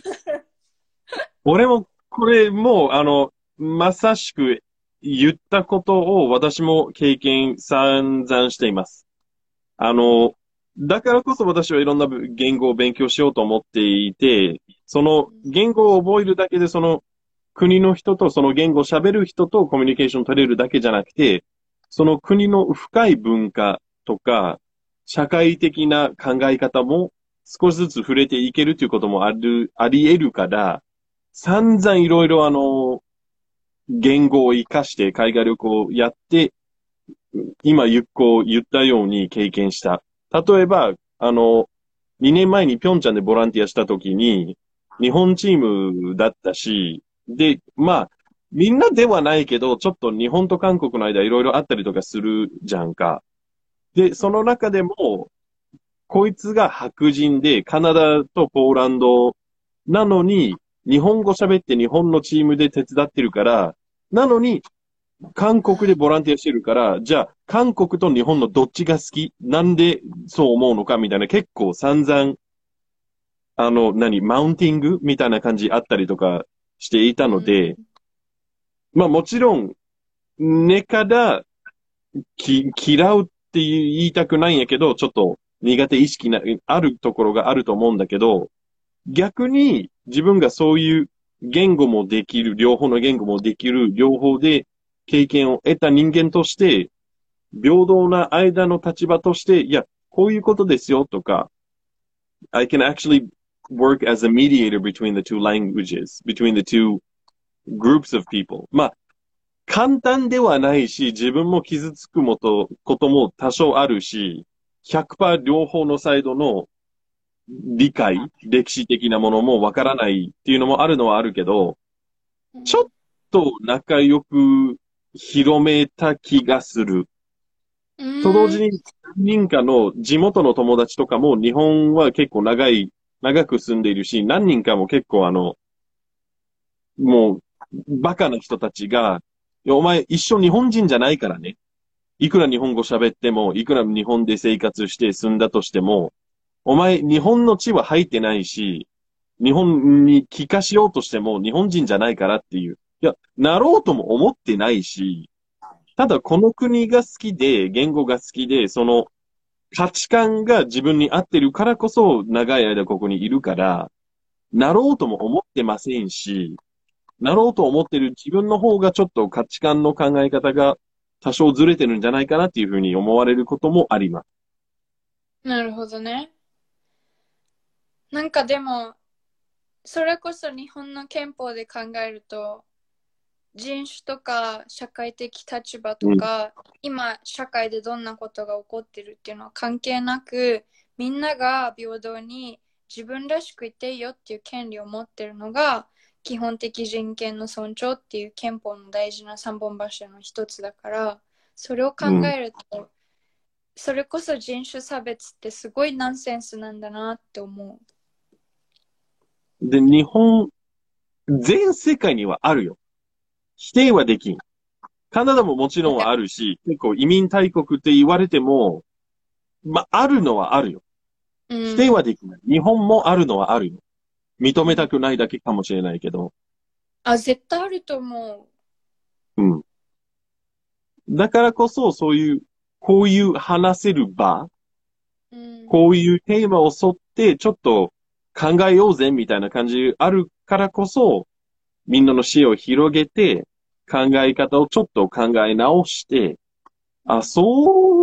俺も、これもう、あの、まさしく言ったことを私も経験散々しています。あの、だからこそ私はいろんな言語を勉強しようと思っていて、その言語を覚えるだけでその国の人とその言語を喋る人とコミュニケーション取れるだけじゃなくて、その国の深い文化とか、社会的な考え方も少しずつ触れていけるということもある、あり得るから、散々いろいろあの、言語を活かして海外旅行をやって、今ゆっこ言ったように経験した。例えば、あの、にねんまえにピョンチャンでボランティアした時に、日本チームだったし、で、まあ、みんなではないけど、ちょっと日本と韓国の間いろいろあったりとかするじゃんか。で、その中でも、こいつが白人で、カナダとポーランドなのに、日本語喋って日本のチームで手伝ってるから、なのに、韓国でボランティアしてるから、じゃあ、韓国と日本のどっちが好き？なんでそう思うのかみたいな、結構散々、あの、何、マウンティングみたいな感じあったりとかしていたので、まあもちろん、根からき嫌うって言いたくないんやけど、ちょっと苦手意識な、あるところがあると思うんだけど、逆に自分がそういう言語もできる、両方の言語もできる、両方で経験を得た人間として、平等な間の立場として、いや、こういうことですよとか、I can actually work as a mediator between the two languages, between the two groups of people. まあ、簡単ではないし、自分も傷つくもと、ことも多少あるし、ひゃくパーセント両方のサイドの理解、歴史的なものもわからないっていうのもあるのはあるけど、ちょっと仲良く広めた気がする。と同時に、何人かの地元の友達とかも日本は結構長い、長く住んでいるし、何人かも結構あの、もう、バカな人たちが、いやお前一生日本人じゃないからね。いくら日本語喋っても、いくら日本で生活して住んだとしても、お前日本の血は入ってないし、日本に帰化しようとしても日本人じゃないからっていう。いや、なろうとも思ってないし、ただこの国が好きで、言語が好きで、その価値観が自分に合ってるからこそ長い間ここにいるから、なろうとも思ってませんし、なろうと思ってる自分の方がちょっと価値観の考え方が多少ずれてるんじゃないかなっていうふうに思われることもあります。 なるほどね。なんかでも、それこそ日本の憲法で考えると、人種とか社会的立場とか、うん、今社会でどんなことが起こってるっていうのは関係なく、みんなが平等に自分らしくいていいよっていう権利を持ってるのが基本的人権の尊重っていう憲法の大事な三本柱の一つだから、それを考えると、うん、それこそ人種差別ってすごいナンセンスなんだなって思う。 で、日本、全世界にはあるよ。否定はできん。カナダももちろんはあるし、結構移民大国って言われても、まあ、あるのはあるよ。否定はできない。日本もあるのはあるよ。認めたくないだけかもしれないけど。 あ、絶対あると思う。うん。だからこそ、そういう、こういう話せる場、うん、こういうテーマを沿って、ちょっと考えようぜ、みたいな感じあるからこそ、みんなの視野を広げて、考え方をちょっと考え直して、あ、そう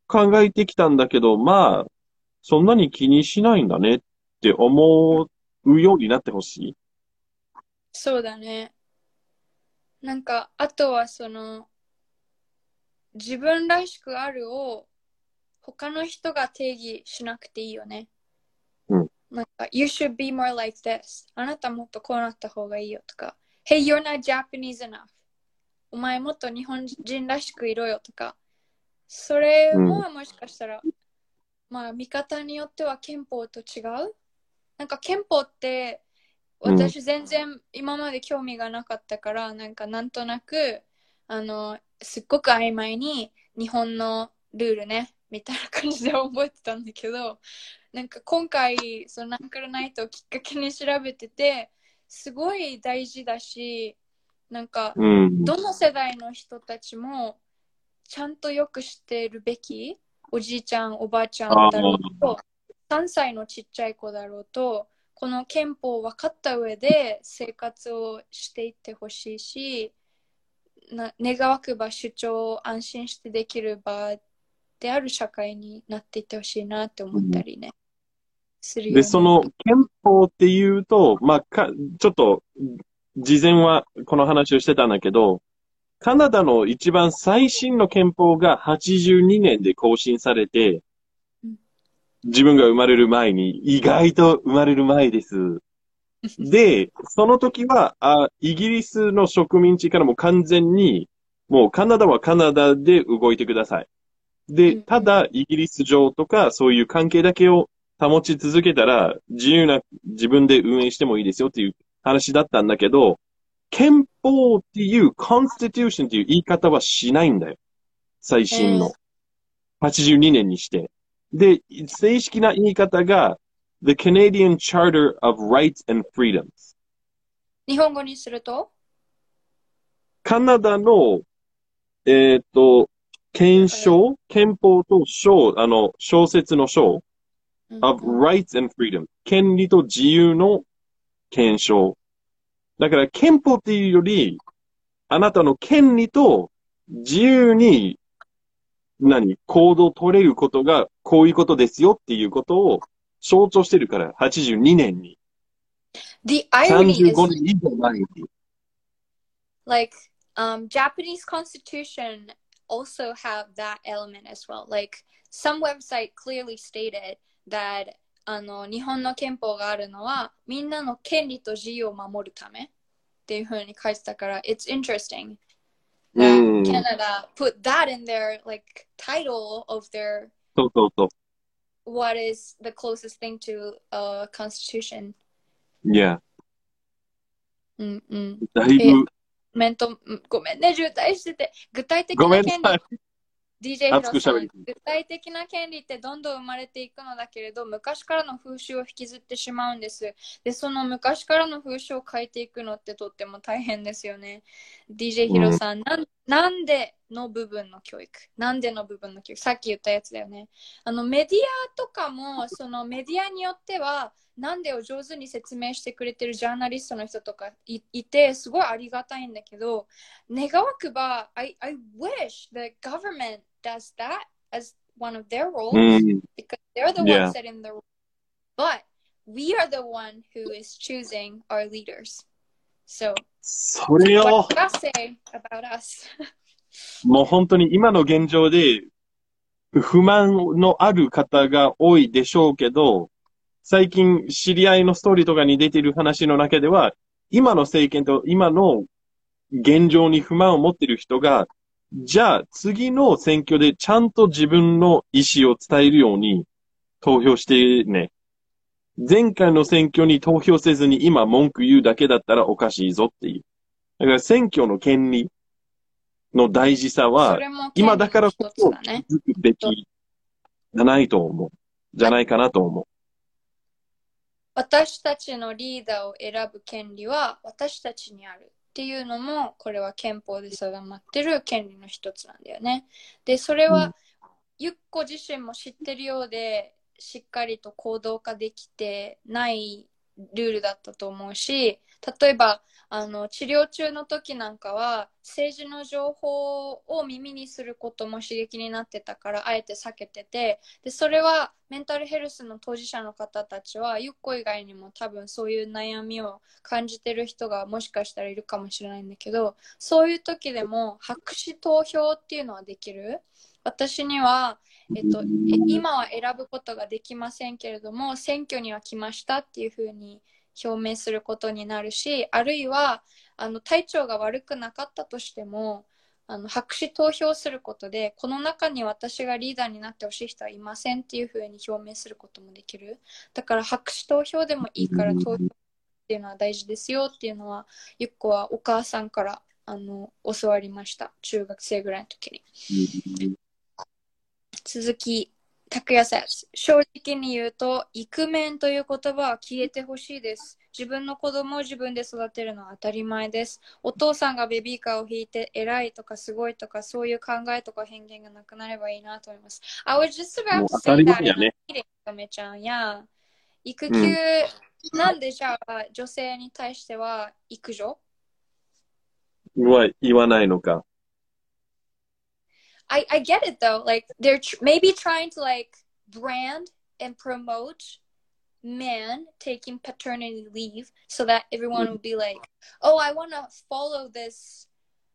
考えてきたんだけど、まあ、そんなに気にしないんだねって思うようになってほしい。 そうだね。なんか、あとはその、自分らしくあるを他の人が定義しなくていいよね。 うん。 なんか、You should be more like this. あなたもっとこうなった方がいいよとか、Hey, you're not Japanese enough. お前もっと日本人らしくいろよとか、それうん。 ももしかしたら、まあ見方によっては憲法と違う。なんか憲法ってうん。 私全然今まで興味がなかったから、なんかなんとなく、あの、すっごく曖昧に日本のルールね、みたいな感じで覚えてたんだけど、なんか今回、そのナンクルナイトをきっかけに調べてて、すごい大事だし、なんか、 うん。 どの世代の人たちもちゃんとよく知っているべき、おじいちゃん、おばあちゃんああ、 だろうと、さんさいのちっちゃい子だろうと、この憲法を分かった上で生活をしていってほしいし、な願わくば主張を安心してできる場である社会になっていってほしいなって思ったうん。 りね、するで、 よね。 その憲法っていうと、まあ、か、ちょっと、事前はこの話をしてたんだけど、カナダの一番最新の憲法がはちじゅうにねんで更新されて、 うん、 自分が生まれる前に、意外と生まれる前です。で、その時は、あ、イギリスの植民地からも完全に、もうカナダはカナダで動いてください。で、 うんうん、 ただ、イギリス上とか、そういう関係だけを保ち続けたら、自由な自分で運営してもいいですよっていう話だったんだけど、憲法っていう、constitution っていう言い方はしないんだよ。最えー新の。はちじゅうにねんにして。で、正式な言い方が、The Canadian Charter of Rights and Freedoms。 日本語にすると、 カナダの、えっと、憲章、憲法と章、あの、小説の章、 うん of うん、 rights and freedom。権利と自由の憲章。だから憲法っていうより、あなたの権利と自由に、何、行動を取れることがこういうことですよっていうことを象徴してるから、はちじゅうにねんに。 The irony 35 is 年以上前に。 like um, Japanese constitution also have that element as well. Like some website clearly stated that あの日本の憲法があるのはみんなの権利と自由を守るためっていうふうに書いてたから It's interesting う that ん。 Canada put that in their like title of their そうそうそ what is the closest thing to a constitution う。いや、 うんうんえだいぶ、 コメントごめんね渋滞してて具体的ごめな権利んなさい。 ディージェー ヒ熱ロさん、 く喋り。 具体的な権利ってどんどん生まれていくのだけれど、昔からの風習を引きずってしまうんです。で、その昔からの風習を変えていくのってとっても大変ですよね。ディージェー ヒロうん。 さん、なんなんでの部分の教育なんでの部分の教育さっき言ったやつだよね。あのメディアとかも、そのメディアによっては、なんでを上手に説明してくれてるジャーナリストの人とか い, いて、すごいありがたいんだけど、願わくば、I, I wish the government does that as one of their う roles ん。 because they're the い ones や、 setting the rules. But we are the one who is choosing our leaders. So それ what を、 do you say about us? もう本当に今の現状で不満のある方が多いでしょうけど、最近知り合いのストーリーとかに出ている話の中では、今の政権と今の現状に不満を持っている人が、じゃあ次の選挙でちゃんと自分の意思を伝えるように投票してね。前回の選挙に投票せずに今文句言うだけだったらおかしいぞっていう。だから選挙の権利の大事さは、 それも権利の今だからこそ気一つだね。 づくべきじゃないと思う。じゃないかなと思う。 私たちのリーダーを選ぶ権利は私たちにあるっていうのも、これは憲法で定まってる権利の一つなんだよね。で、それはゆっこ自身も知ってるようで、しっかりと行動化できてないルールだったと思うし、例えばあの治療中の時なんかは政治の情報を耳にすることも刺激になってたからあえて避けてて、でそれはメンタルヘルスの当事者の方たちはゆっこ以外にも多分そういう悩みを感じてる人がもしかしたらいるかもしれないんだけど、そういう時でも白紙投票っていうのはできる。私には、えっと、今は選ぶことができませんけれども選挙には来ましたっていうふうに表明することになるし、あるいはあの体調が悪くなかったとしてもあの白紙投票することでこの中に私がリーダーになってほしい人はいませんっていうふうに表明することもできる。だから白紙投票でもいいから投票っていうのは大事ですよっていうのはゆっこはお母さんからあの教わりました、中学生ぐらいの時に。続き、拓也さん、正直に言うと、イクメンという言葉は消えてほしいです。自分の子供を自分で育てるのは当たり前です。お父さんがベビーカーを引いて偉いとかすごいとかそういう考えとか偏見がなくなればいいなと思います。I was just も about う to 当た say り that 前やね。 とめちゃんや、育休、 うん。 なんでじゃあ女性に対しては育女は言わないのか。 I, I get it though. Like they're tr- maybe trying to like brand and promote men taking paternity leave so that everyone would be like, oh, I want to follow this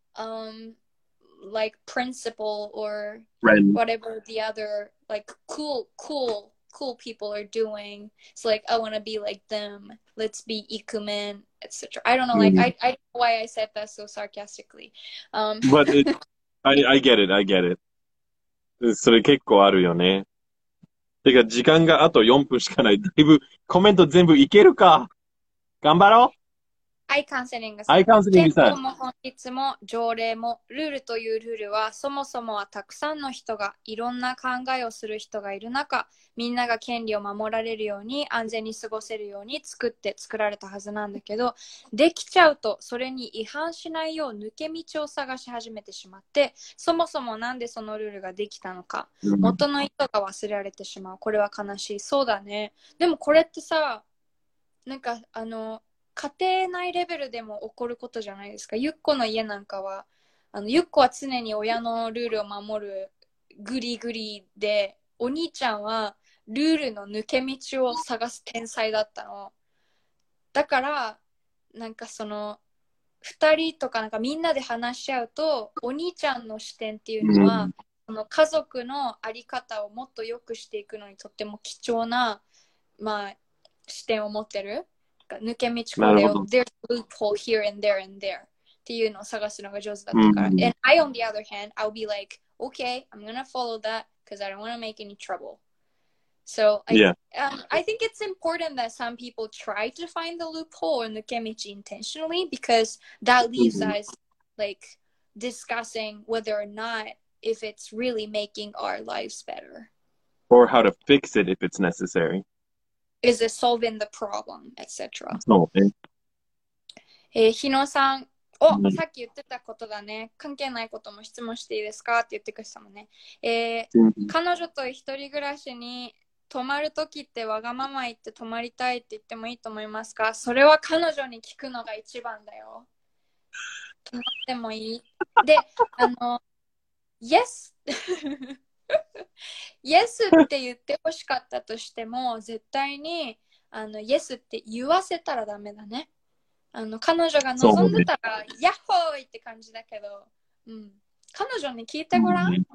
um like principle or Friend. whatever the other like cool cool cool people are doing. So like I want to be like them. Let's be ikumen, et cetera. I don't know. Like I I don't know why I said that so sarcastically. Um. But it, I, I get it, I get it. それ結構あるよね。てか、時間があとよんぷんしかない。だいぶ、コメント全部いけるか。頑張ろう。 アイカウンセリングさん。アイカウンセリングさん。 憲法も法律も条例もルールというルールはそもそもはたくさんの人がいろんな考えをする人がいる中、みんなが権利を守られるように安全に過ごせるように作って作られたはずなんだけど、できちゃうとそれに違反しないよう抜け道を探し始めてしまって、そもそもなんでそのルールができたのか、元の意図が忘れられてしまう。これは悲しい。そうだね。でもこれってさ、なんかあの家庭内レベルでも起こることじゃないですか。ゆっこの家なんかはあのゆっこは常に親のルールを守るグリグリで、お兄ちゃんはルールの抜け道を探す天才だったの。だからなんかそのふたりとかなんかみんなで話し合うと、お兄ちゃんの視点っていうのは、うん、その家族の在り方をもっと良くしていくのにとっても貴重な、まあ、視点を持ってる。抜け道これを There's a loophole here and there and there っていうのを探すのが上手だったから、うん、And I on the other hand I'll be like okay I'm gonna follow that because I don't want to make any trouble. So I, yeah. um, I think it's important that some people try to find the loophole in the nuke intentionally because that leaves mm-hmm. us like discussing whether or not if it's really making our lives better or how to fix it if it's necessary.Is it solving the problem, et cetera. そうね。 えー、日野さん、お、うん、さっき言ってたことだね。関係ないことも質問していいですかって言ってくれたもんね。えーうん、彼女と一人暮らしに泊まるときってわがまま言って泊まりたいって言ってもいいと思いますか？それは彼女に聞くのが一番だよ。泊まってもいい？で、あの、Yes! イエスって言ってほしかったとしても絶対にあのイエスって言わせたらダメだね。あの彼女が望んでたら、ね、ヤッホーイって感じだけど、うん、彼女に聞いてごらん、うん、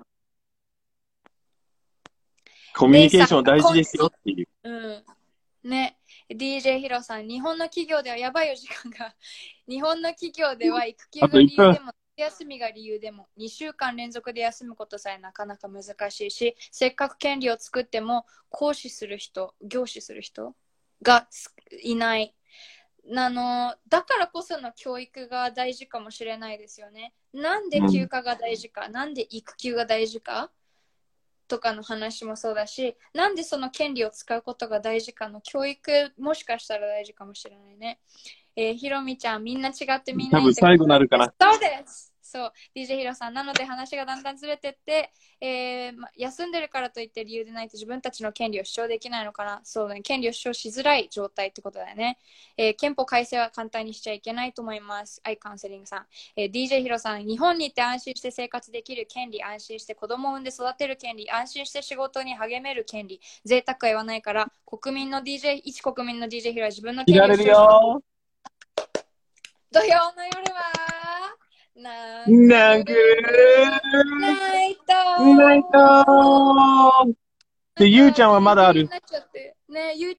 コミュニケーション大事ですよっていう、 うんね、ディージェー ヒロさん、日本の企業ではやばいよ時間が日本の企業では育休が理由でも休みが理由でもにしゅうかん連続で休むことさえなかなか難しいし、せっかく権利を作っても行使する人、行使する人がいない。あのだからこその教育が大事かもしれないですよね。なんで休暇が大事か、うん、なんで育休が大事かとかの話もそうだし、なんでその権利を使うことが大事かの教育もしかしたら大事かもしれないね。えー、ひろみちゃん、みんな違ってみんな多分最後になるかな。 そうです。 そう、ディージェー ヒロさん。なので話がだんだんずれてって、えーま、休んでるからといって理由でないと自分たちの権利を主張できないのかな。そうだね。権利を主張しづらい状態ってことだよね。えー、憲法改正は簡単にしちゃいけないと思います。アイカウンセリングさん。えー、ディージェー ヒロさん。日本に行って安心して生活できる権利、安心して子供を産んで育てる権利、安心して仕事に励める権利、贅沢は言わないから、国民の ディージェー、一国民の ディージェー ヒロは自分の権利を主張します。土曜の夜はなんくナイトナイトで、ゆうちゃんはまだある。 ね、ゆう